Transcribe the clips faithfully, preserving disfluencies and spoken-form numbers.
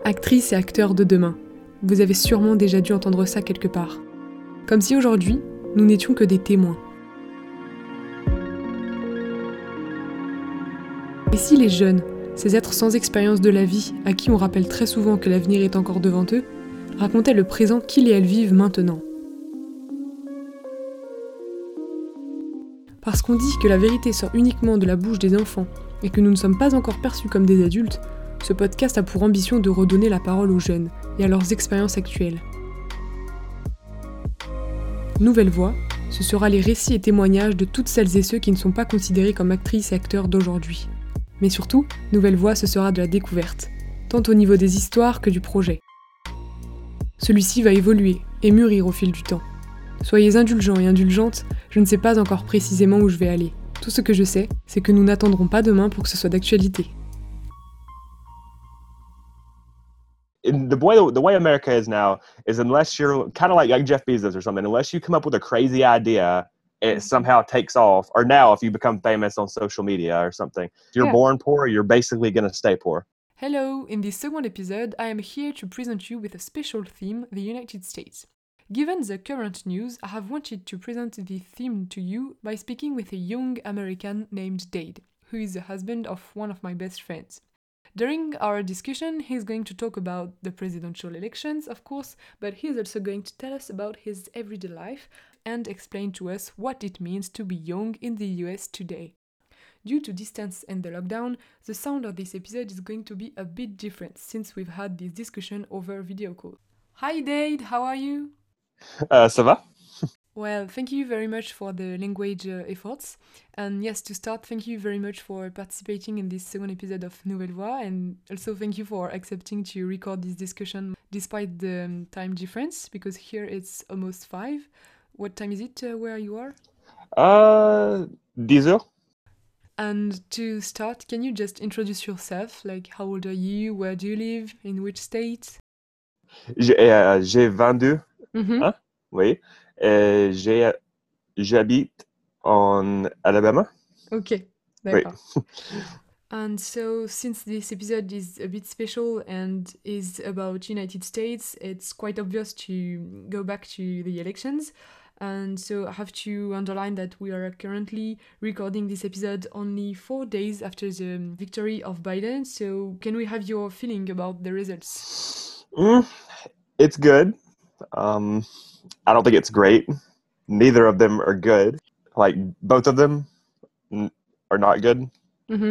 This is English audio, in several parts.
Actrices et acteurs de demain. Vous avez sûrement déjà dû entendre ça quelque part. Comme si aujourd'hui, nous n'étions que des témoins. Et si les jeunes, ces êtres sans expérience de la vie, à qui on rappelle très souvent que l'avenir est encore devant eux, racontaient le présent qu'ils et elles vivent maintenant? Parce qu'on dit que la vérité sort uniquement de la bouche des enfants et que nous ne sommes pas encore perçus comme des adultes, ce podcast a pour ambition de redonner la parole aux jeunes et à leurs expériences actuelles. Nouvelle Voix, ce sera les récits et témoignages de toutes celles et ceux qui ne sont pas considérés comme actrices et acteurs d'aujourd'hui. Mais surtout, Nouvelle Voix, ce sera de la découverte, tant au niveau des histoires que du projet. Celui-ci va évoluer et mûrir au fil du temps. Soyez indulgents et indulgentes, je ne sais pas encore précisément où je vais aller. Tout ce que je sais, c'est que nous n'attendrons pas demain pour que ce soit d'actualité. In the way the way America is now is unless you're kind of like, like Jeff Bezos or something, unless you come up with a crazy idea, it somehow takes off. Or now, if you become famous on social media or something, if you're Yeah. born poor, you're basically going to stay poor. Hello, in this second episode, I am here to present you with a special theme, the United States. Given the current news, I have wanted to present the theme to you by speaking with a young American named Dade, who is the husband of one of my best friends. During our discussion, he's going to talk about the presidential elections, of course, but he's also going to tell us about his everyday life and explain to us what it means to be young in the U S today. Due to distance and the lockdown, the sound of this episode is going to be a bit different since we've had this discussion over video call. Hi Dade, how are you? Uh, ça va? Well, thank you very much for the language uh, efforts. And yes, to start, thank you very much for participating in this second episode of Nouvelle Voix. And also thank you for accepting to record this discussion despite the um, time difference, because here it's almost five. What time is it uh, where you are? Uh, ten heures. And to start, can you just introduce yourself? Like, how old are you? Where do you live? In which state? J'ai euh, j'ai vingt-deux. Mm-hmm. Hein? Oui. Euh, j'ai j'habite en Alabama. Okay, Oui. d'accord. And so, since this episode is a bit special and is about United States, it's quite obvious to go back to the elections. And so I have to underline that we are currently recording this episode only four days after the victory of Biden. So can we have your feeling about the results? Mm, it's good. Um, I don't think it's great. Neither of them are good. Like, both of them n- are not good. Mm-hmm.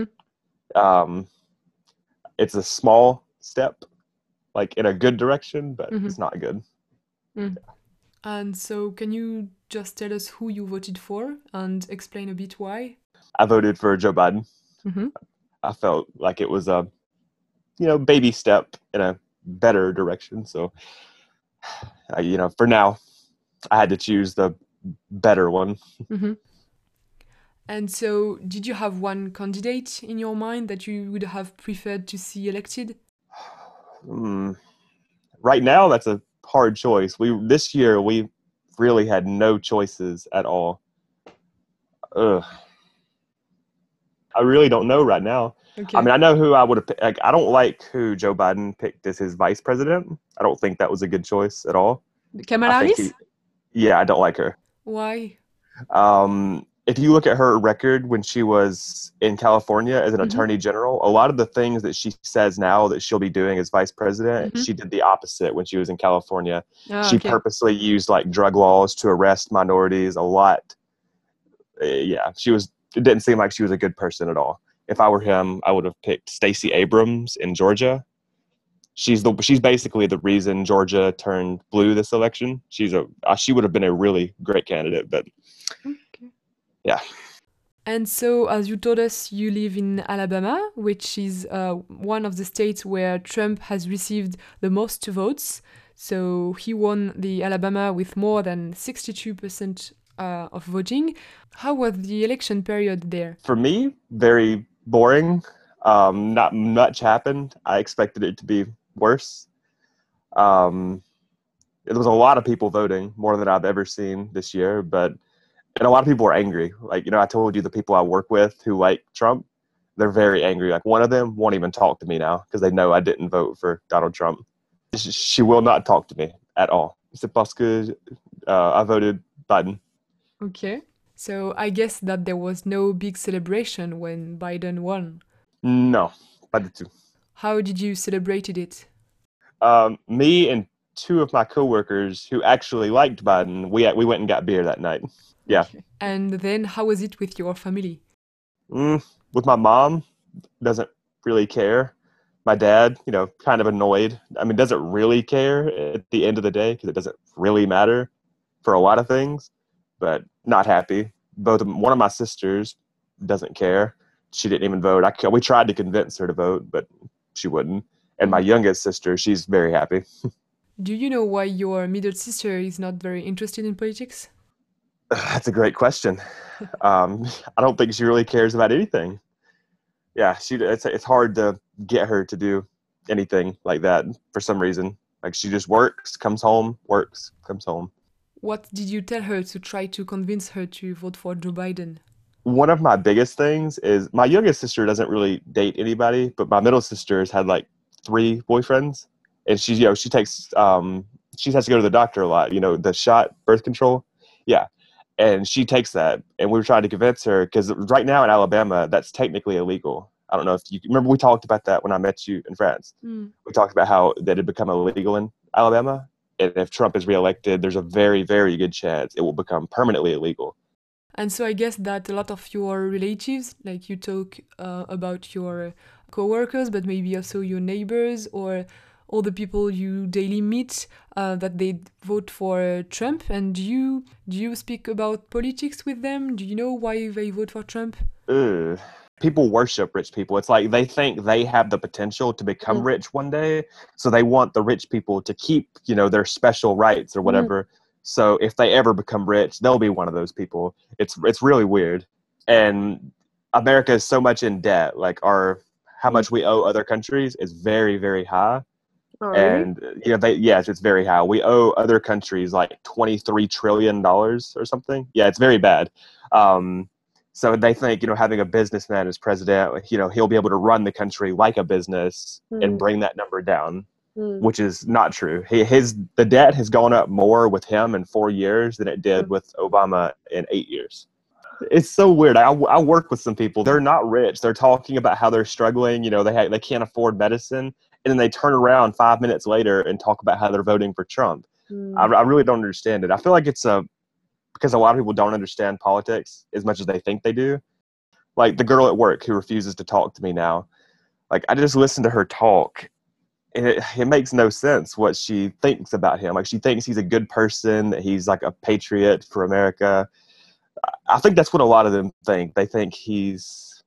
Um, it's a small step, like in a good direction, but Mm-hmm. it's not good. Mm. And so can you just tell us who you voted for and explain a bit why? I voted for Joe Biden. Mm-hmm. I felt like it was a, you know, baby step in a better direction. So, I, you know, for now, I had to choose the better one. Mm-hmm. And so, did you have one candidate in your mind that you would have preferred to see elected? Mm, right now, that's a hard choice. We this year we really had no choices at all. Ugh. I really don't know right now. Okay. I mean, I know who I would have picked. Like, I don't like who Joe Biden picked as his vice president. I don't think that was a good choice at all. Kamala I think Harris? he- yeah, I don't like her. Why? Um, if you look at her record when she was in California as an Mhm. attorney general, a lot of the things that she says now that she'll be doing as vice president, Mhm. she did the opposite when she was in California. Ah, she okay. purposely used like drug laws to arrest minorities a lot. Uh, yeah, she was. It didn't seem like she was a good person at all. If I were him, I would have picked Stacey Abrams in Georgia. She's the she's basically the reason Georgia turned blue this election. She's a uh, she would have been a really great candidate, but Okay. yeah. And so, as you told us, you live in Alabama, which is uh, one of the states where Trump has received the most votes. So he won the Alabama with more than sixty-two percent uh, of voting. How was the election period there? For me, very boring. Um, not much happened. I expected it to be worse. Um, there was a lot of people voting, more than I've ever seen this year, but and a lot of people were angry. Like, you know, I told you the people I work with who like Trump, They're very angry. Like one of them won't even talk to me now because they know I didn't vote for Donald Trump. She will not talk to me at all. C'est parce que uh, I voted Biden. Okay. So I guess that there was no big celebration when Biden won. No, pas du tout. How did you celebrate it? Um, me and two of my coworkers who actually liked Biden, we we went and got beer that night. Yeah. Okay. And then how was it with your family? Mm, with my mom, doesn't really care. My dad, you know, kind of annoyed. I mean, doesn't really care at the end of the day because it doesn't really matter for a lot of things, but not happy. Both of, one of my sisters doesn't care. She didn't even vote. I, we tried to convince her to vote, but she wouldn't. And my youngest sister, she's very happy. Do you know why your middle sister is not very interested in politics? That's a great question. um, I don't think she really cares about anything. Yeah, she. It's it's hard to get her to do anything like that for some reason. Like she just works, comes home, works, comes home. What did you tell her to try to convince her to vote for Joe Biden? One of my biggest things is my youngest sister doesn't really date anybody, but my middle sister has had like three boyfriends, and she, you know, she takes, um, she has to go to the doctor a lot. You know, the shot, birth control. Yeah. And she takes that, and we were trying to convince her because right now in Alabama, that's technically illegal. I don't know if you remember we talked about that when I met you in France. Mm. We talked about how that had become illegal in Alabama, and if Trump is reelected, there's a very, very good chance it will become permanently illegal. And so I guess that a lot of your relatives, like you talk uh, about your coworkers, but maybe also your neighbors or all the people you daily meet, uh, that they vote for Trump. And do you do you speak about politics with them? Do you know why they vote for Trump? Ugh. People worship rich people. It's like they think they have the potential to become Mm. rich one day, so they want the rich people to keep, you know, their special rights or whatever. Mm. So if they ever become rich, they'll be one of those people. It's it's really weird. And America is so much in debt. Like our how much we owe other countries is very, very high. Oh, really? And you know, they yes, it's very high. We owe other countries like twenty-three trillion dollars or something. Yeah, it's very bad. Um, so they think, you know, having a businessman as president, you know, he'll be able to run the country like a business mm. and bring that number down, mm. which is not true. He, his the debt has gone up more with him in four years than it did mm. with Obama in eight years. It's so weird. I, I work with some people. They're not rich. They're talking about how they're struggling. You know, they ha- they can't afford medicine. And then they turn around five minutes later and talk about how they're voting for Trump. Mm. I, I really don't understand it. I feel like it's a because a lot of people don't understand politics as much as they think they do. Like the girl at work who refuses to talk to me now. Like I just listen to her talk, and it, it makes no sense what she thinks about him. Like she thinks he's a good person, that he's like a patriot for America. I think that's what a lot of them think. They think he's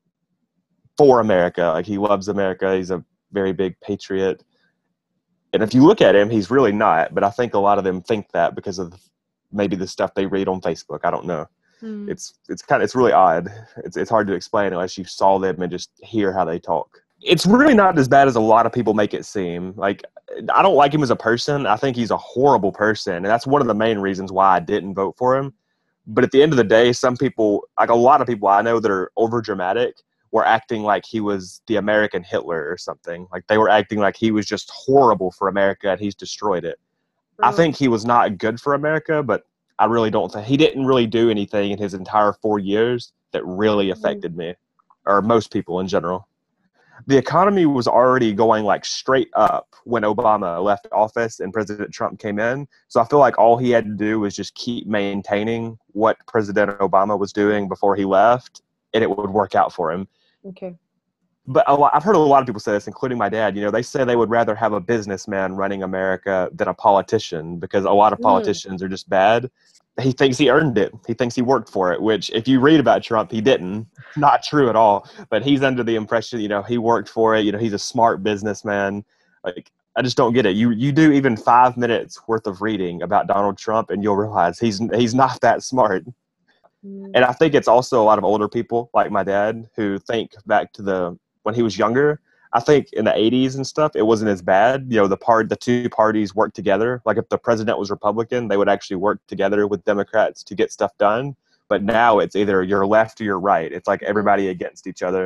for America. Like he loves America. He's a very big patriot. And if you look at him, he's really not. But I think a lot of them think that because of maybe the stuff they read on Facebook. I don't know. Mm. It's it's kind of it's really odd. It's it's hard to explain unless you saw them and just hear how they talk. It's really not as bad as a lot of people make it seem. Like I don't like him as a person. I think he's a horrible person, and that's one of the main reasons why I didn't vote for him. But at the end of the day, some people, like a lot of people I know that are over dramatic, were acting like he was the American Hitler or something. Like they were acting like he was just horrible for America and he's destroyed it. I think he was not good for America, but I really don't think he didn't really do anything in his entire four years that really affected me or most people in general. The economy was already going like straight up when Obama left office and President Trump came in. So I feel like all he had to do was just keep maintaining what President Obama was doing before he left, and it would work out for him. Okay. But a lot, I've heard a lot of people say this, including my dad. You know, they say they would rather have a businessman running America than a politician because a lot of politicians mm. are just bad. He thinks he earned it. He thinks he worked for it, which if you read about Trump, he didn't. Not true at all. But he's under the impression, you know, he worked for it. You know, he's a smart businessman. Like, I just don't get it. You you do even five minutes worth of reading about Donald Trump and you'll realize he's he's not that smart. Mm. And I think it's also a lot of older people like my dad who think back to the when he was younger. I think in the eighties and stuff, it wasn't as bad. You know, the part, the two parties worked together. Like if the president was Republican, they would actually work together with Democrats to get stuff done. But now it's either you're left or you're right. It's like everybody against each other.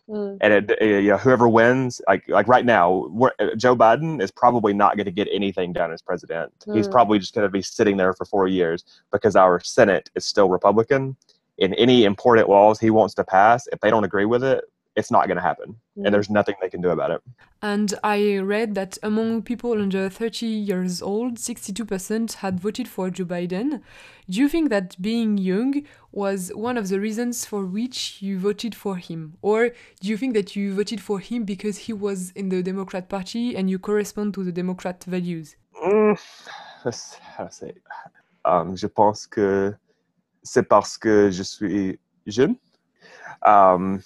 Mm. And it, it, you know, whoever wins, like like right now, we're, Joe Biden is probably not going to get anything done as president. Mm. He's probably just going to be sitting there for four years because our Senate is still Republican. And any important laws he wants to pass, if they don't agree with it, it's not going to happen. Mm. And there's nothing they can do about it. And I read that among people under thirty years old, sixty-two percent had voted for Joe Biden. Do you think that being young was one of the reasons for which you voted for him? Or do you think that you voted for him because he was in the Democrat Party and you correspond to the Democrat values? Mm, let's, how to say? Um, je pense que c'est parce que je suis jeune. Um,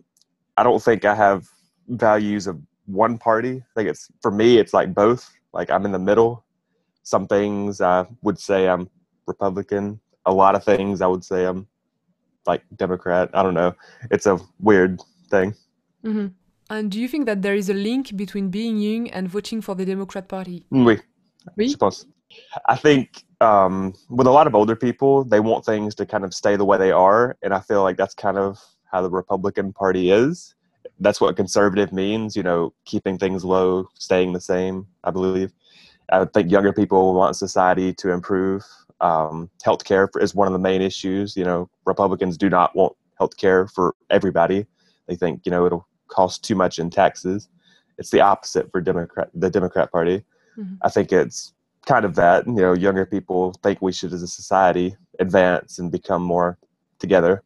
I don't think I have values of one party. I think it's, for me, it's like both. Like I'm in the middle. Some things I would say I'm Republican. A lot of things I would say I'm like Democrat. I don't know. It's a weird thing. Mm-hmm. And do you think that there is a link between being young and voting for the Democrat Party? Oui. Oui? Je pense. I think um, with a lot of older people, they want things to kind of stay the way they are. And I feel like that's kind of how the Republican Party is. That's what conservative means, you know, keeping things low, staying the same, I believe. I think younger people want society to improve. Um, healthcare is one of the main issues. You know, Republicans do not want healthcare for everybody. They think, you know, it'll cost too much in taxes. It's the opposite for Democrat, the Democrat Party. Mm-hmm. I think it's kind of that, you know, younger people think we should, as a society, advance and become more together.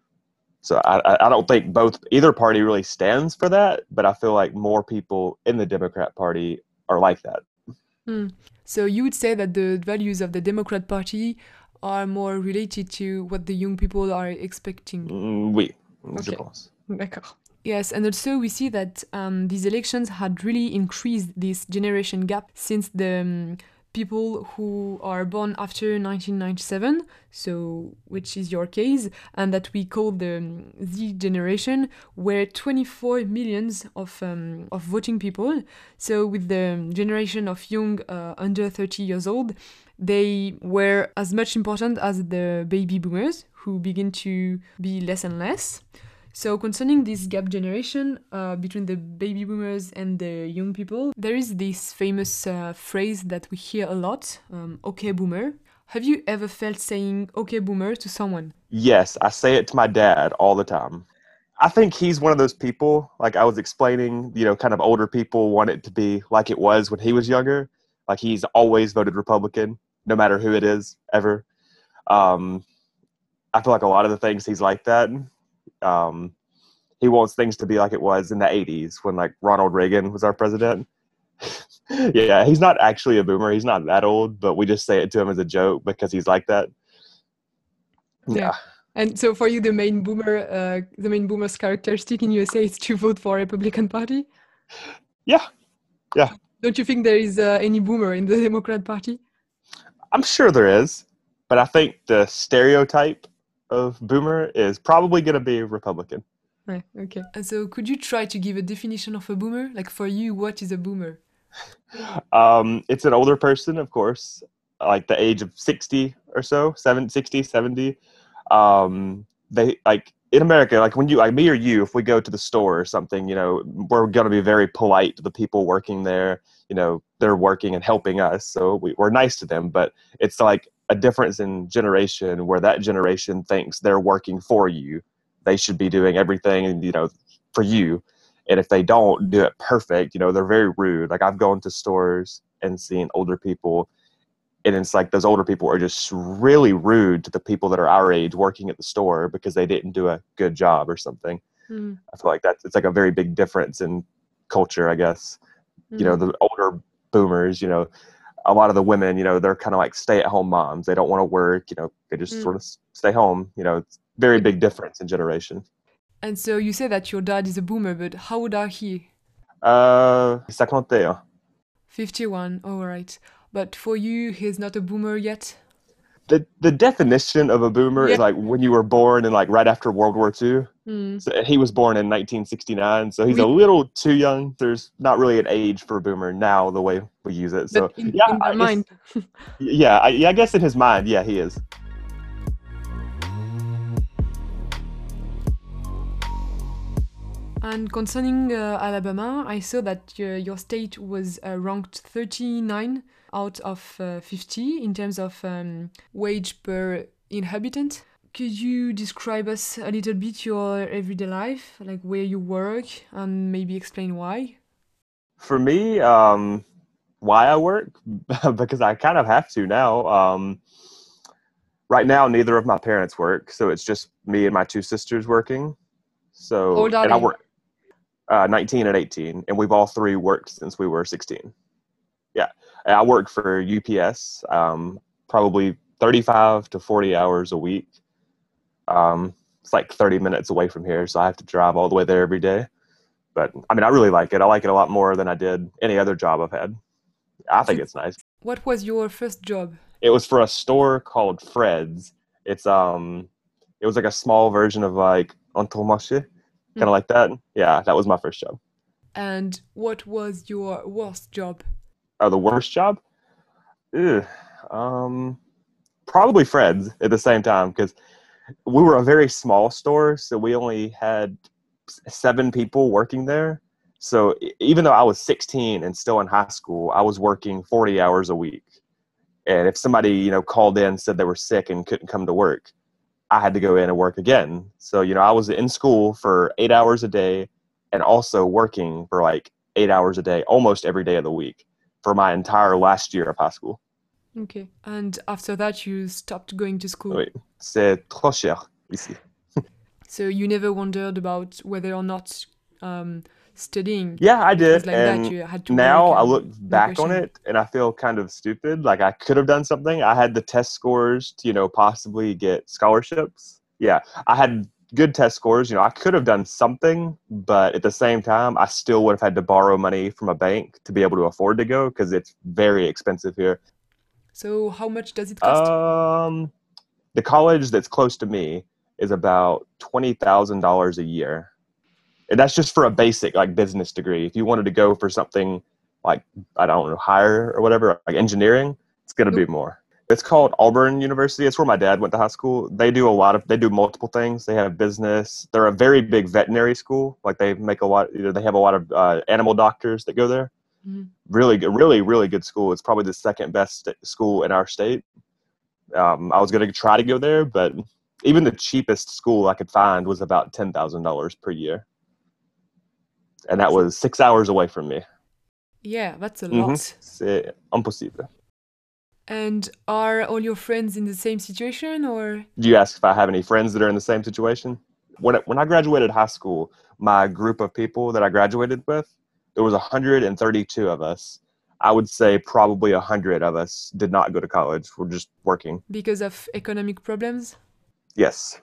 So I, I don't think both either party really stands for that, but I feel like more people in the Democrat Party are like that. Mm. So you would say that the values of the Democrat Party are more related to what the young people are expecting? Mm, oui, okay. Je pense. D'accord. Yes, and also we see that um, these elections had really increased this generation gap since the um, people who are born after nineteen ninety-seven, so which is your case, and that we call the um, Z generation, were twenty-four millions of um, of voting people. So with the generation of young uh, under thirty years old, they were as much important as the baby boomers, who begin to be less and less. So concerning this gap generation uh, between the baby boomers and the young people, there is this famous uh, phrase that we hear a lot, um, okay boomer. Have you ever felt saying okay boomer to someone? Yes, I say it to my dad all the time. I think he's one of those people, like I was explaining, you know, kind of older people want it to be like it was when he was younger. Like he's always voted Republican, no matter who it is, ever. Um, I feel like a lot of the things he's like that. Um, he wants things to be like it was in the eighties when like Ronald Reagan was our president. Yeah, he's not actually a boomer. He's not that old, but we just say it to him as a joke because he's like that. Yeah. Yeah. And so for you, the main boomer, uh, the main boomer's characteristic in U S A is to vote for Republican Party? Yeah. Yeah. Don't you think there is uh, any boomer in the Democrat Party? I'm sure there is, but I think the stereotype of boomer is probably going to be Republican. Right, okay. And so could you try to give a definition of a boomer? Like for you, what is a boomer? Um, it's an older person, of course, like the age of sixty or so, seventy, sixty, seventy. Um, they like in America, like when you, like me or you, if we go to the store or something, you know, we're going to be very polite to the people working there. You know, they're working and helping us, so we, we're nice to them. But it's like a difference in generation where that generation thinks they're working for you. They should be doing everything, you know, for you. And if they don't do it perfect, you know, they're very rude. Like I've gone to stores and seen older people, and it's like those older people are just really rude to the people that are our age working at the store because they didn't do a good job or something. Mm. I feel like that's, it's like a very big difference in culture, I guess. Mm. You know, the older boomers, you know, a lot of the women, you know, they're kind of like stay-at-home moms. They don't want to work, you know, they just mm. sort of stay home. You know, it's very big difference in generation. And so you say that your dad is a boomer, but how old are he? Uh, fifty-one. fifty-one, all right. But for you, he's not a boomer yet? The the definition of a boomer yeah. is like when you were born and like right after World War Two. Mm. So he was born in nineteen sixty-nine, so he's we, a little too young. There's not really an age for a boomer now the way we use it. So in, yeah, in their mind. yeah, I, yeah, I guess in his mind, yeah, he is. And concerning uh, Alabama, I saw that uh, your state was uh, ranked thirty-nine out of uh, fifty in terms of um, wage per inhabitant. Could you describe us a little bit your everyday life, like where you work, and maybe explain why? For me, um, why I work? Because I kind of have to now. Um, right now, neither of my parents work, so it's just me and my two sisters working. How So, old are and I they? work uh, nineteen and eighteen, and we've all three worked since we were sixteen. Yeah, and I work for U P S, um, probably thirty-five to forty hours a week. Um, it's like thirty minutes away from here, so I have to drive all the way there every day. But I mean, I really like it. I like it a lot more than I did any other job I've had. I think So, it's nice. what was your first job? It was for a store called Fred's. It's um, it was like a small version of like Entourmarché, kind of Mm. like that. Yeah, that was my first job. And what was your worst job? Oh, the worst job? Ugh. Um, probably Fred's at the same time because we were a very small store, so we only had seven people working there. So e- even though I was sixteen and still in high school, I was working forty hours a week. And if somebody, you know, called in and said they were sick and couldn't come to work, I had to go in and work again. So, you know, I was in school for eight hours a day and also working for like eight hours a day, almost every day of the week for my entire last year of high school. Okay. And after that, you stopped going to school. Oui, c'est trop cher ici. So you never wondered about whether or not um, studying. Yeah, I It was did. like that. And You had to now work I and look no back on question. it and I feel kind of stupid. Like I could have done something. I had the test scores to, you know, possibly get scholarships. Yeah, I had good test scores. You know, I could have done something, but at the same time, I still would have had to borrow money from a bank to be able to afford to go because it's very expensive here. So how much does it cost? Um, the college that's close to me is about twenty thousand dollars a year. And that's just for a basic like business degree. If you wanted to go for something like I don't know higher or whatever, like engineering, it's going to No. be more. It's called Auburn University. It's where my dad went to high school. They do a lot of they do multiple things. They have business. They're a very big veterinary school. Like they make a lot. You know, they have a lot of uh, animal doctors that go there. Mhm. Really good, really really good school. It's probably the second best st- school in our state. Um, I was going to try to go there, but even the cheapest school I could find was about ten thousand dollars per year. And that was six hours away from me. Yeah, that's a Mm-hmm. lot. C'est impossible. And are all your friends in the same situation or? Do you ask if I have any friends that are in the same situation? When I, when I graduated high school, my group of people that I graduated with, there was one hundred thirty-two of us. I would say probably one hundred of us did not go to college. We're just working. Because of economic problems? Yes.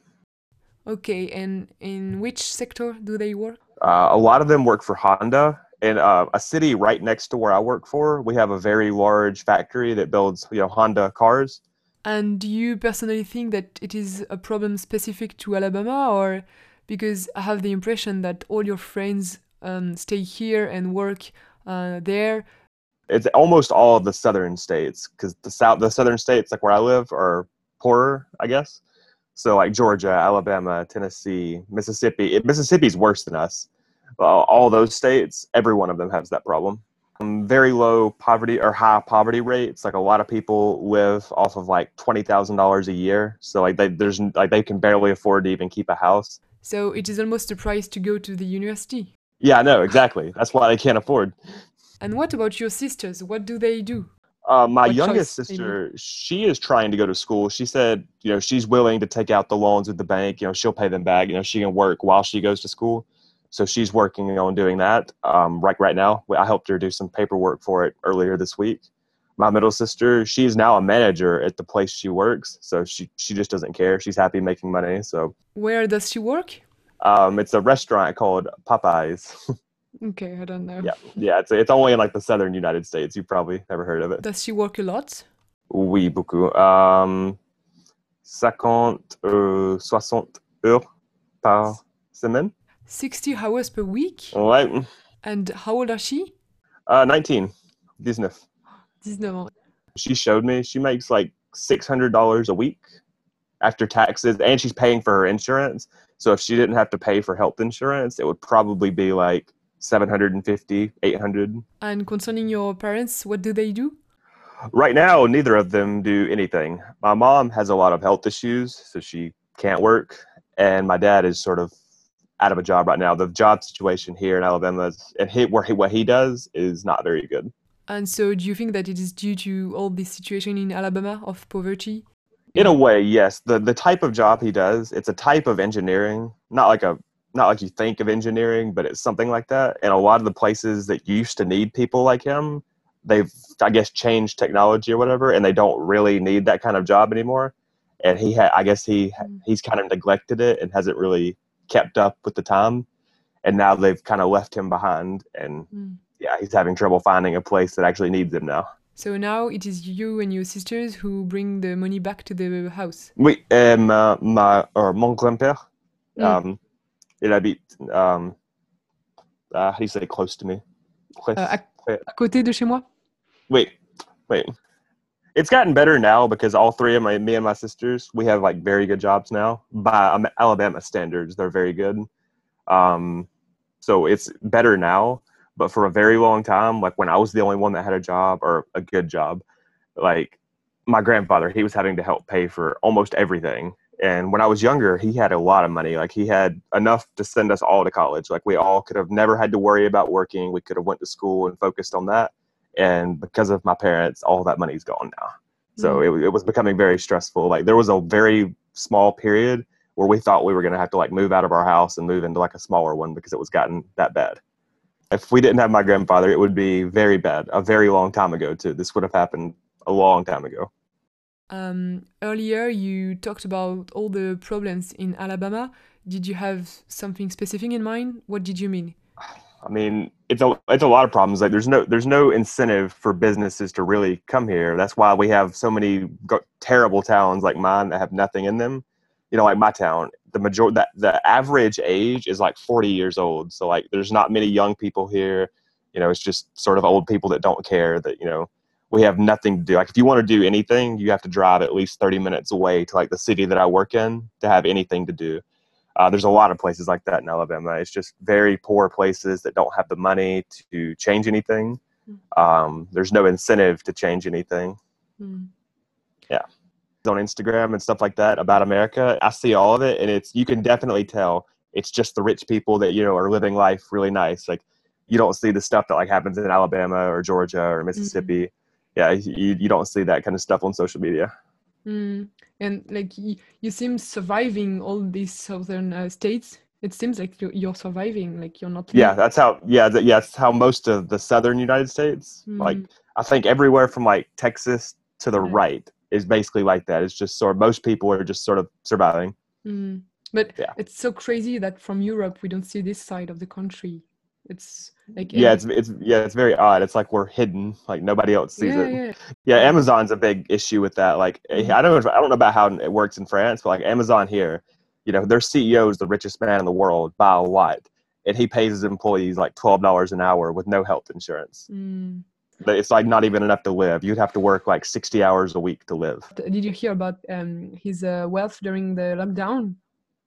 Okay, and in which sector do they work? Uh, a lot of them work for Honda. In uh, a city right next to where I work for, we have a very large factory that builds, you know, Honda cars. And do you personally think that it is a problem specific to Alabama, or because I have the impression that all your friends um, stay here and work uh, there? It's almost all of the southern states because the south, the southern states, like where I live, are poorer, I guess. So like Georgia, Alabama, Tennessee, Mississippi. Mississippi's worse than us. Uh, all those states, every one of them has that problem. Um, very low poverty or high poverty rates. Like a lot of people live off of like twenty thousand dollars a year. So like they there's like they can barely afford to even keep a house. So it is almost a price to go to the university. Yeah, I know exactly. That's why they can't afford. And what about your sisters? What do they do? Uh, my What youngest choice, I mean? sister, she is trying to go to school. She said, you know, she's willing to take out the loans with the bank. You know, she'll pay them back. You know, she can work while she goes to school. So she's working on doing that. Um, right, right now, I helped her do some paperwork for it earlier this week. My middle sister, she's now a manager at the place she works. So she, she just doesn't care. She's happy making money. So Where does she work? um, it's a restaurant called Popeyes. Okay, I don't know. Yeah, yeah. It's it's only in like the southern United States. You've probably never heard of it. Does she work a lot? Oui, beaucoup. Um, cinquante, euh, soixante heures par semaine. sixty hours per week? Ouais. And how old are she? Uh, nineteen. nineteen. nineteen ans. She showed me she makes like six hundred dollars a week after taxes, and she's paying for her insurance. So if she didn't have to pay for health insurance, it would probably be like seven hundred fifty, eight hundred. And concerning your parents, what do they do? Right now, neither of them do anything. My mom has a lot of health issues, so she can't work. And my dad is sort of out of a job right now. The job situation here in Alabama is, and he, where he, what he does is not very good. And so do you think that it is due to all this situation in Alabama of poverty? In a way, yes. The the type of job he does, it's a type of engineering, not like a not like you think of engineering, but it's something like that. And a lot of the places that used to need people like him, they've, I guess, changed technology or whatever, and they don't really need that kind of job anymore. And he had, I guess he Mm. he's kind of neglected it and hasn't really kept up with the time. And now they've kind of left him behind, and Mm. yeah, he's having trouble finding a place that actually needs him now. So now it is you and your sisters who bring the money back to the house. Oui, et ma, ma, or mon grand-père, Mm. um, il habite, um, uh, how do you say close to me? Près- Euh, à, près- à côté de chez moi? Wait, wait. It's gotten better now because all three of my, me and my sisters, we have like very good jobs now. By um, Alabama standards, they're very good. Um, so it's better now. But for a very long time, like when I was the only one that had a job or a good job, like my grandfather, he was having to help pay for almost everything. And when I was younger, he had a lot of money. Like he had enough to send us all to college. Like we all could have never had to worry about working. We could have went to school and focused on that. And because of my parents, all that money's gone now. So Mm. it, it was becoming very stressful. Like there was a very small period where we thought we were going to have to like move out of our house and move into like a smaller one because it was gotten that bad. If we didn't have my grandfather, it would be very bad. A very long time ago too. This would have happened a long time ago. Um, earlier you talked about all the problems in Alabama. Did you have something specific in mind? What did you mean? I mean, it's a it's a lot of problems. Like there's no there's no incentive for businesses to really come here. That's why we have so many go- terrible towns like mine that have nothing in them. You know, like my town, the major that the average age is like forty years old. So like, there's not many young people here. You know, it's just sort of old people that don't care. That you know, we have nothing to do. Like if you want to do anything, you have to drive at least thirty minutes away to like the city that I work in to have anything to do. Uh, there's a lot of places like that in Alabama. It's just very poor places that don't have the money to change anything. Um, there's no incentive to change anything. Mm. Yeah. On Instagram and stuff like that about America, I see all of it, and it's you can definitely tell it's just the rich people that you know are living life really nice. Like you don't see the stuff that like happens in Alabama or Georgia or Mississippi. Yeah, you you don't see that kind of stuff on social media. Mm. And like y- you seem surviving all these southern uh, states. It seems like you're, you're surviving, like you're not Yeah, leaving. that's how. Yeah, that, yeah, that's how most of the southern United States, like Mm. I think everywhere from like Texas to the Yeah. right, is basically like that. It's just sort of most people are just sort of surviving. Mm. But Yeah. it's so crazy that from Europe we don't see this side of the country. It's like Yeah, every it's it's yeah, it's very odd. It's like we're hidden, like nobody else sees yeah, it. yeah. Yeah, Mm. Amazon's a big issue with that. Like Mm. I don't know, if, I don't know about how it works in France, but like Amazon here, you know, their C E O is the richest man in the world by a lot, and he pays his employees like twelve dollars an hour with no health insurance. Mm. But it's like not even enough to live. You'd have to work like sixty hours a week to live. Did you hear about um, his uh, wealth during the lockdown?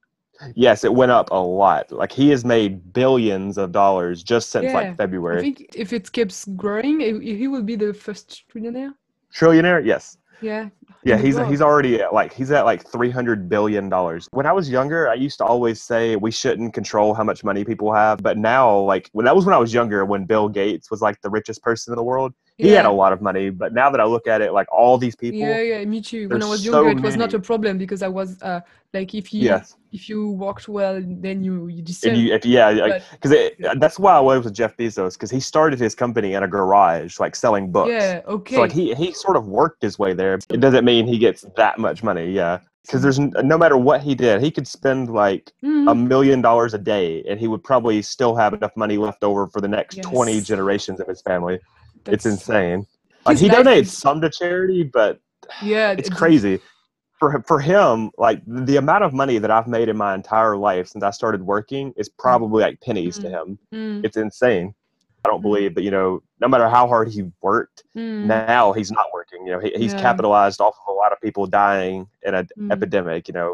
Yes, it went up a lot. Like he has made billions of dollars just since Yeah, like I February. think if it keeps growing, he he will be the first trillionaire. Trillionaire? Yes. Yeah, Yeah, in the he's world. he's already at like he's at like three hundred billion dollars. When I was younger, I used to always say we shouldn't control how much money people have, but now like when that was when I was younger, when Bill Gates was like the richest person in the world, he had a Yeah, lot of money, but now that I look at it, like all these yeah, people, yeah. Me too. When I there's was younger, so it was not a many. problem because I was uh like if you Yes. if you worked well, then you you If deserve. you, if yeah, like, But because that's why I was with Jeff Bezos, because he started his company in a garage, like selling books. yeah, So like okay. he he sort of worked his way there. It doesn't mean he gets that much money, yeah. Because there's n- no matter what he did, he could spend like a Mhm. million dollars a day, and he would probably still have enough money left over for the next twenty Yes, generations of his family. It's that's insane. Like his he life donates is some to charity, but yeah. it's It's, crazy. For for him, like the amount of money that I've made in my entire life since I started working is probably like pennies to mm, him. mm, It's insane. I don't mm, believe that, you know, no matter how hard he worked, mm, now he's not working. You know, he, he's yeah, capitalized off of a lot of people dying in an mm, epidemic, you know.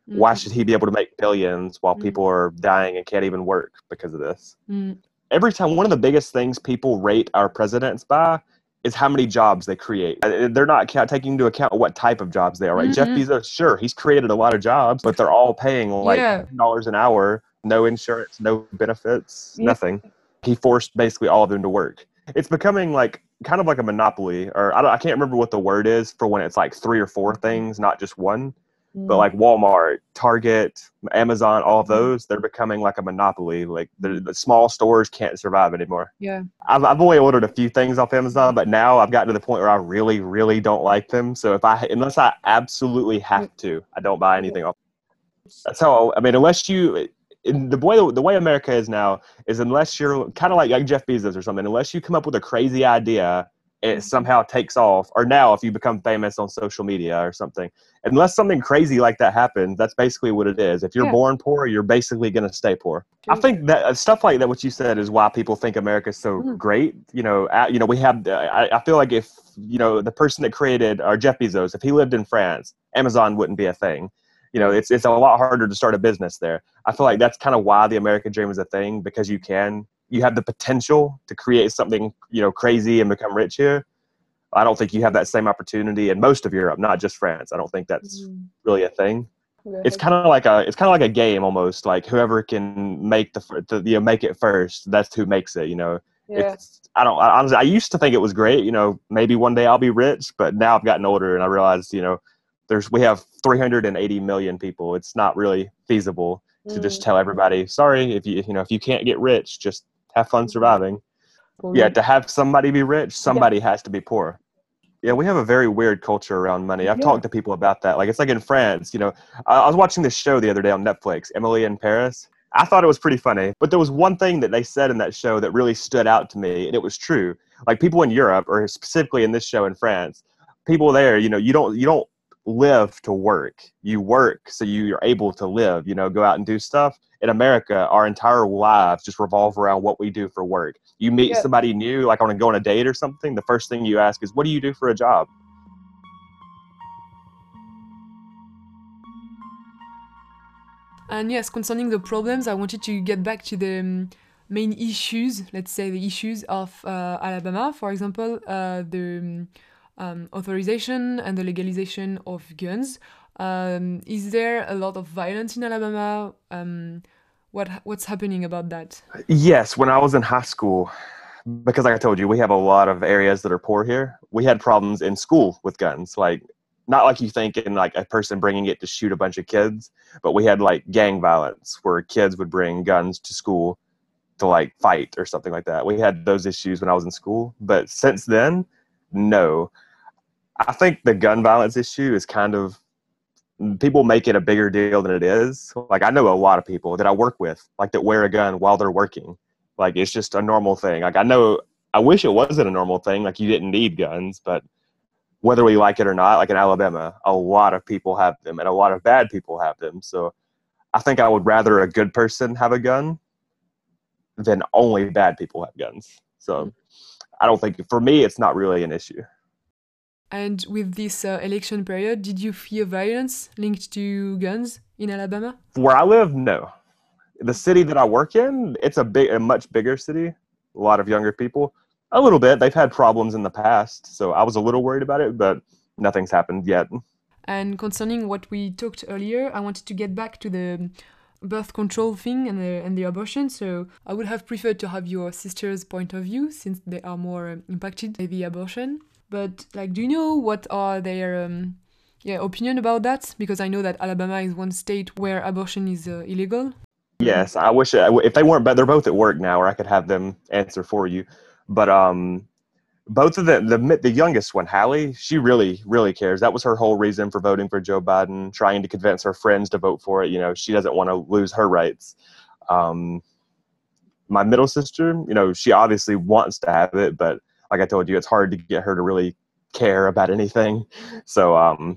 Why Mm. should he be able to make billions while Mm. people are dying and can't even work because of this? Mm. Every time, one of the biggest things people rate our presidents by is how many jobs they create. Uh, They're not ca- taking into account what type of jobs they are, right? Jeff Mm-hmm. Bezos, sure, he's created a lot of jobs, but they're all paying like Yeah. ten dollars an hour, no insurance, no benefits, Yeah. nothing. He forced basically all of them to work. It's becoming like kind of like a monopoly, or I, don't, I can't remember what the word is for when it's like three or four things, not just one. But Mm. like Walmart, Target, Amazon, all of Mhm. those, they're becoming like a monopoly. Like the, the small stores can't survive anymore. Yeah. I've, I've only ordered a few things off Amazon, but now I've gotten to the point where I really, really don't like them. So if I, unless I absolutely have to, I don't buy anything off. That's how, I mean, unless you, in the way, the way America is now is unless you're kind of like, like Jeff Bezos or something, unless you come up with a crazy idea and it somehow takes off, or now if you become famous on social media or something, unless something crazy like that happens, that's basically what it is. If you're Yeah. born poor, you're basically going to stay poor. I True. think that uh, stuff like that, what you said, is why people think America's so Mm. great. You know, uh, you know, we have. Uh, I, I feel like if you know the person that created, or Jeff Bezos, if he lived in France, Amazon wouldn't be a thing. You know, it's it's a lot harder to start a business there. I feel like that's kind of why the American dream is a thing, because you can, you have the potential to create something, you know, crazy and become rich here. I don't think you have that same opportunity in most of Europe, not just France. I don't think that's Mm. really a thing. Yeah. It's kind of like a it's kind of like a game almost. Like whoever can make the, fir- the you know make it first, that's who makes it. You know, Yeah. it's I don't I, honestly I used to think it was great. You know, maybe one day I'll be rich, but now I've gotten older and I realize you know there's we have three hundred eighty million people. It's not really feasible to just Mm. tell everybody, sorry, if you you know if you can't get rich, just have fun surviving. Yeah, Probably. to have somebody be rich, somebody has to be poor. Yeah, we have a very weird culture around money. I've Yeah. talked to people about that. Like, it's like in France, you know, I, I was watching this show the other day on Netflix, Emily in Paris. I thought it was pretty funny, but there was one thing that they said in that show that really stood out to me, and it was true. Like, people in Europe, or specifically in this show in France, people there, you know, you don't you don't live to work. You work so you're able to live, you know, go out and do stuff. In America, our entire lives just revolve around what we do for work. You meet Yeah. somebody new, like on a, go on a date or something, the first thing you ask is, what do you do for a job? And yes, concerning the problems, I wanted to get back to the um, main issues, let's say the issues of uh, Alabama, for example, uh, the um, um, authorization and the legalization of guns. Um, is there a lot of violence in Alabama? Um, what what's happening about that? Yes, when I was in high school, because like I told you, we have a lot of areas that are poor here. We had problems in school with guns, like not like you think in like a person bringing it to shoot a bunch of kids, but we had like gang violence where kids would bring guns to school to like fight or something like that. We had those issues when I was in school, but since then, no. I think the gun violence issue is kind of, people make it a bigger deal than it is. Like I know a lot of people that I work with, like that wear a gun while they're working. Like it's just a normal thing. Like I know, I wish it wasn't a normal thing. Like you didn't need guns, but whether we like it or not, like in Alabama, a lot of people have them and a lot of bad people have them. So I think I would rather a good person have a gun than only bad people have guns. So I don't think, for me, it's not really an issue. And with this uh, election period, did you fear violence linked to guns in Alabama? Where I live, no. The city that I work in, it's a big, a much bigger city. A lot of younger people. A little bit. They've had problems in the past, so I was a little worried about it, but nothing's happened yet. And concerning what we talked earlier, I wanted to get back to the birth control thing and the, and the abortion. So I would have preferred to have your sister's point of view since they are more um, impacted by the abortion. But like, do you know what are their um, yeah opinion about that? Because I know that Alabama is one state where abortion is uh, illegal. Yes, I wish I, if they weren't, but they're both at work now, or I could have them answer for you. But um, both of them, the the youngest one, Hallie, she really, really cares. That was her whole reason for voting for Joe Biden, trying to convince her friends to vote for it. You know, she doesn't want to lose her rights. Um, my middle sister, you know, she obviously wants to have it, but like I told you, it's hard to get her to really care about anything. So, um,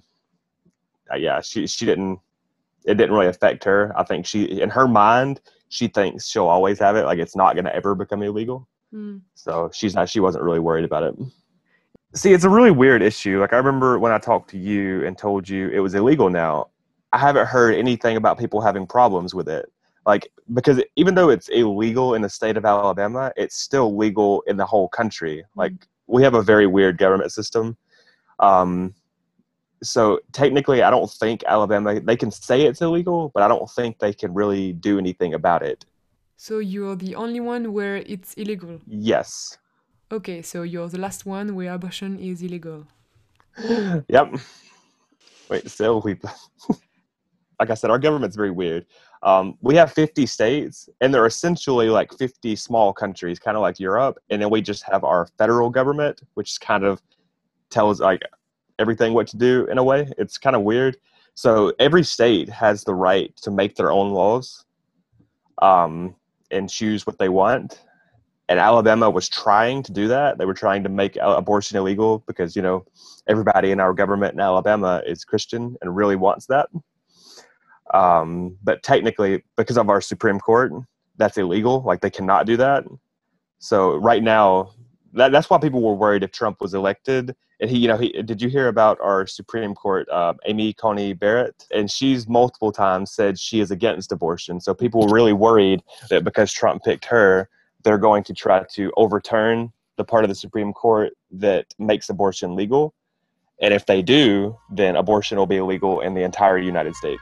yeah, she she didn't. It didn't really affect her. I think she, in her mind, she thinks she'll always have it. Like it's not going to ever become illegal. Mm. So she's not. She wasn't really worried about it. See, it's a really weird issue. Like I remember when I talked to you and told you it was illegal now. I haven't heard anything about people having problems with it. Like, because even though it's illegal in the state of Alabama, it's still legal in the whole country. Mm-hmm. Like, we have a very weird government system. Um, so technically, I don't think Alabama, they can say it's illegal, but I don't think they can really do anything about it. So you're the only one where it's illegal? Yes. Okay, so you're the last one where abortion is illegal. Yep. Wait, so we, like I said, our government's very weird. Um, we have fifty states, and they're essentially like fifty small countries, kind of like Europe. And then we just have our federal government, which kind of tells like everything what to do in a way. It's kind of weird. So every state has the right to make their own laws um, and choose what they want. And Alabama was trying to do that. They were trying to make abortion illegal because, you know, everybody in our government in Alabama is Christian and really wants that. Um, but technically, because of our Supreme Court, that's illegal. Like, they cannot do that. So right now, that, that's why people were worried if Trump was elected. And he, you know, he, did you hear about our Supreme Court, uh, Amy Coney Barrett? And she's multiple times said she is against abortion. So people were really worried that because Trump picked her, they're going to try to overturn the part of the Supreme Court that makes abortion legal. And if they do, then abortion will be illegal in the entire United States.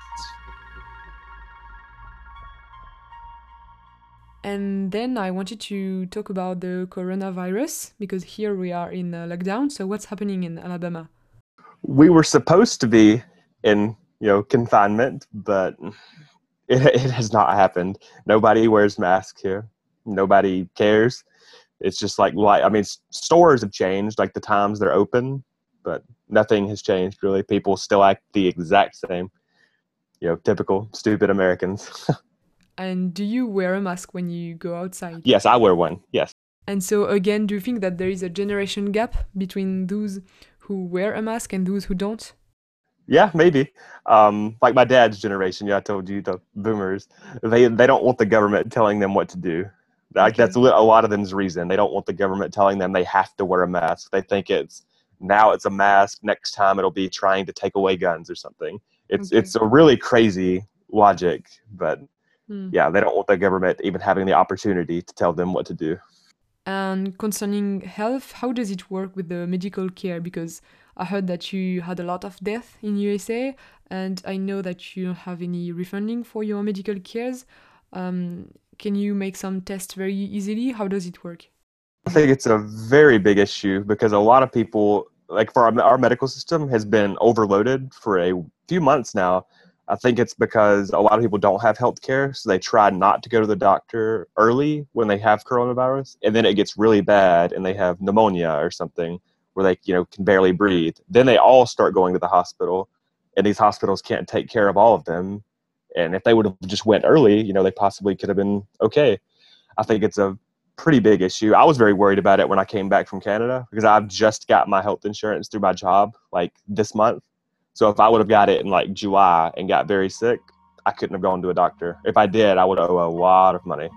And then I wanted to talk about the coronavirus, because here we are in uh, lockdown. So what's happening in Alabama? We were supposed to be in, you know, confinement, but it, it has not happened. Nobody wears masks here. Nobody cares. It's just like, like, I mean, stores have changed, like the times they're open, but nothing has changed really. People still act the exact same, you know, typical stupid Americans. And do you wear a mask when you go outside? Yes, I wear one, yes. And so again, do you think that there is a generation gap between those who wear a mask and those who don't? Yeah, maybe. Um, like my dad's generation, yeah, I told you, the boomers, they they don't want the government telling them what to do. Like, okay. That's a lot of them's reason. They don't want the government telling them they have to wear a mask. They think it's, now it's a mask, next time it'll be trying to take away guns or something. It's okay. It's a really crazy logic, but mm. yeah, they don't want the government even having the opportunity to tell them what to do. And concerning health, how does it work with the medical care? Because I heard that you had a lot of death in U S A, and I know that you don't have any refunding for your medical cares. Um, can you make some tests very easily? How does it work? I think it's a very big issue because a lot of people, like for our, our medical system has been overloaded for a few months now. I think it's because a lot of people don't have health care, so they try not to go to the doctor early when they have coronavirus, and then it gets really bad and they have pneumonia or something where they, you know, can barely breathe. Then they all start going to the hospital, and these hospitals can't take care of all of them. And if they would have just went early, you know, they possibly could have been okay. I think it's a pretty big issue. I was very worried about it when I came back from Canada because I've just got my health insurance through my job like this month. So if I would have got it in like July and got very sick, I couldn't have gone to a doctor. If I did, I would owe a lot of money.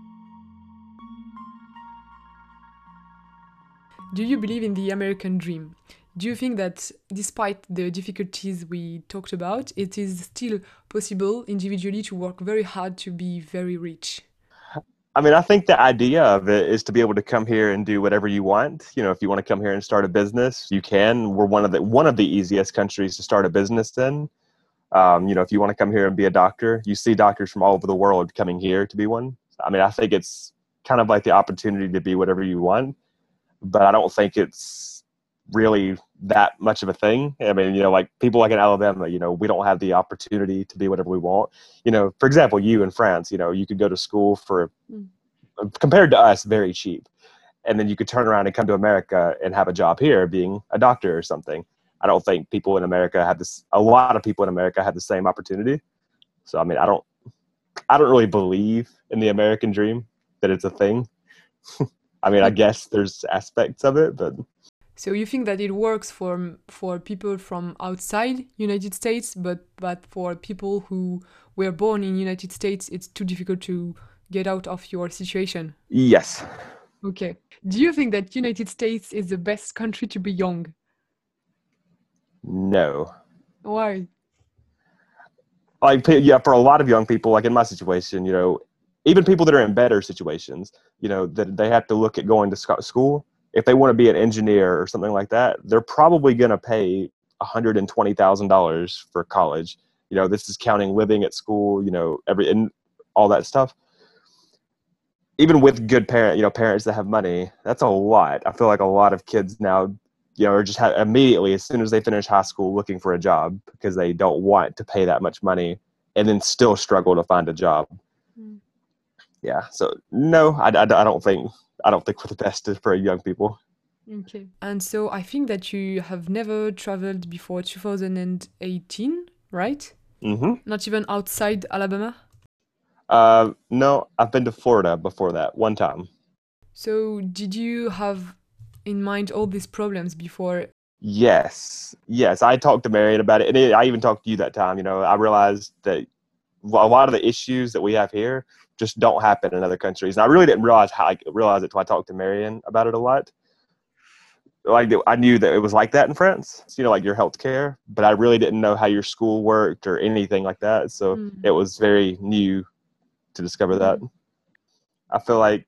Do you believe in the American dream? Do you think that despite the difficulties we talked about, it is still possible individually to work very hard to be very rich? I mean, I think the idea of it is to be able to come here and do whatever you want. You know, if you want to come here and start a business, you can. We're one of the one of the easiest countries to start a business in. Um, you know, if you want to come here and be a doctor, you see doctors from all over the world coming here to be one. I mean, I think it's kind of like the opportunity to be whatever you want, but I don't think it's really that much of a thing. I mean, you know, like people like in Alabama, you know, we don't have the opportunity to be whatever we want. You know, for example, you in France, you know, you could go to school for, mm. compared to us, very cheap. And then you could turn around and come to America and have a job here being a doctor or something. I don't think people in America have this, a lot of people in America have the same opportunity. So, I mean, I don't, I don't really believe in the American dream, that it's a thing. I mean, I guess there's aspects of it, but. So you think that it works for for people from outside United States, but but for people who were born in United States, it's too difficult to get out of your situation? Yes. Okay. Do you think that United States is the best country to be young? No. Why? like yeah, for a lot of young people, like in my situation, you know, even people that are in better situations, you know, that they have to look at going to school. If they want to be an engineer or something like that, they're probably going to pay one hundred twenty thousand dollars for college. You know, this is counting living at school, you know, every and all that stuff. Even with good parent, you know, parents that have money, that's a lot. I feel like a lot of kids now, you know, are just ha- immediately as soon as they finish high school looking for a job because they don't want to pay that much money and then still struggle to find a job. Mm. Yeah. So no, I, I, I don't think I don't think we're the best for young people. Okay. And so I think that you have never traveled before two thousand eighteen, right? Mm-hmm. Not even outside Alabama? Uh, no, I've been to Florida before that, one time. So did you have in mind all these problems before? Yes. Yes, I talked to Marion about it. And it, I even talked to you that time. You know, I realized that a lot of the issues that we have here just don't happen in other countries. And I really didn't realize how I realized it until I talked to Marion about it a lot. Like I knew that it was like that in France, you know, like your healthcare, but I really didn't know how your school worked or anything like that. So mm. it was very new to discover mm. that. I feel like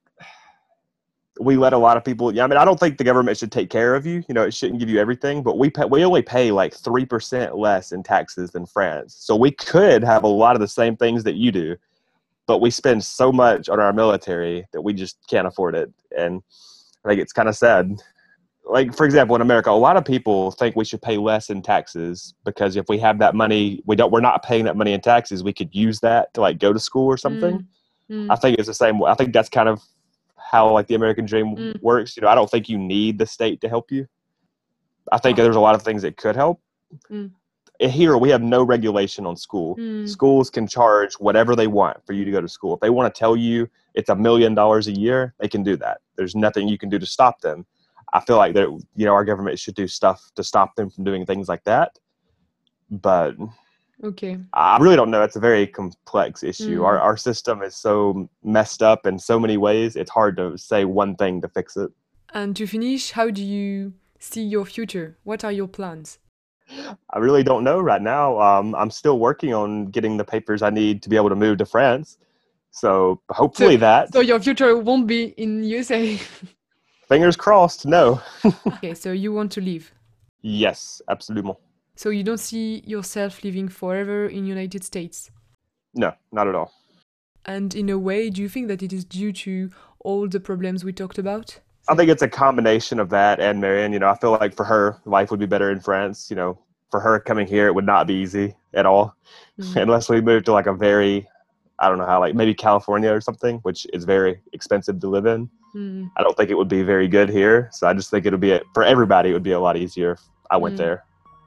we let a lot of people, yeah, I mean, I don't think the government should take care of you. You know, it shouldn't give you everything, but we pay, we only pay like three percent less in taxes than France. So we could have a lot of the same things that you do, but we spend so much on our military that we just can't afford it. And I think it's kind of sad. Like, for example, in America, a lot of people think we should pay less in taxes because if we have that money, we don't, we're not paying that money in taxes. We could use that to like go to school or something. Mm. Mm. I think it's the same way. I think that's kind of how like the American dream mm. works. You know, I don't think you need the state to help you. I think oh. there's a lot of things that could help. Mm. Here, we have no regulation on school. Mm. Schools can charge whatever they want for you to go to school. If they want to tell you it's a million dollars a year, they can do that. There's nothing you can do to stop them. I feel like that, you know, our government should do stuff to stop them from doing things like that. But okay, I really don't know. It's a very complex issue. Mm. Our our system is so messed up in so many ways. It's hard to say one thing to fix it. And to finish, how do you see your future? What are your plans? I really don't know right now. Um, I'm still working on getting the papers I need to be able to move to France. So hopefully so, that. So your future won't be in U S A. Fingers crossed, no. Okay, so you want to leave? Yes, absolutely. So you don't see yourself living forever in United States? No, not at all. And in a way, do you think that it is due to all the problems we talked about? I think it's a combination of that and Marion. You know, I feel like for her, life would be better in France. You know, for her coming here, it would not be easy at all. Mm. Unless we moved to like a very, I don't know how, like maybe California or something, which is very expensive to live in. Mm. I don't think it would be very good here. So I just think it would be, a, for everybody, it would be a lot easier if I went mm. there.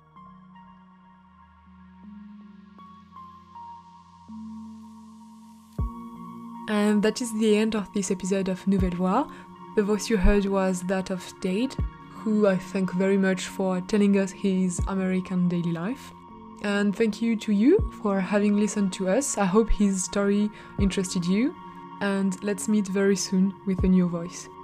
And that is the end of this episode of Nouvelle Voix. The voice you heard was that of Dade, who I thank very much for telling us his American daily life. And thank you to you for having listened to us. I hope his story interested you. And let's meet very soon with a new voice.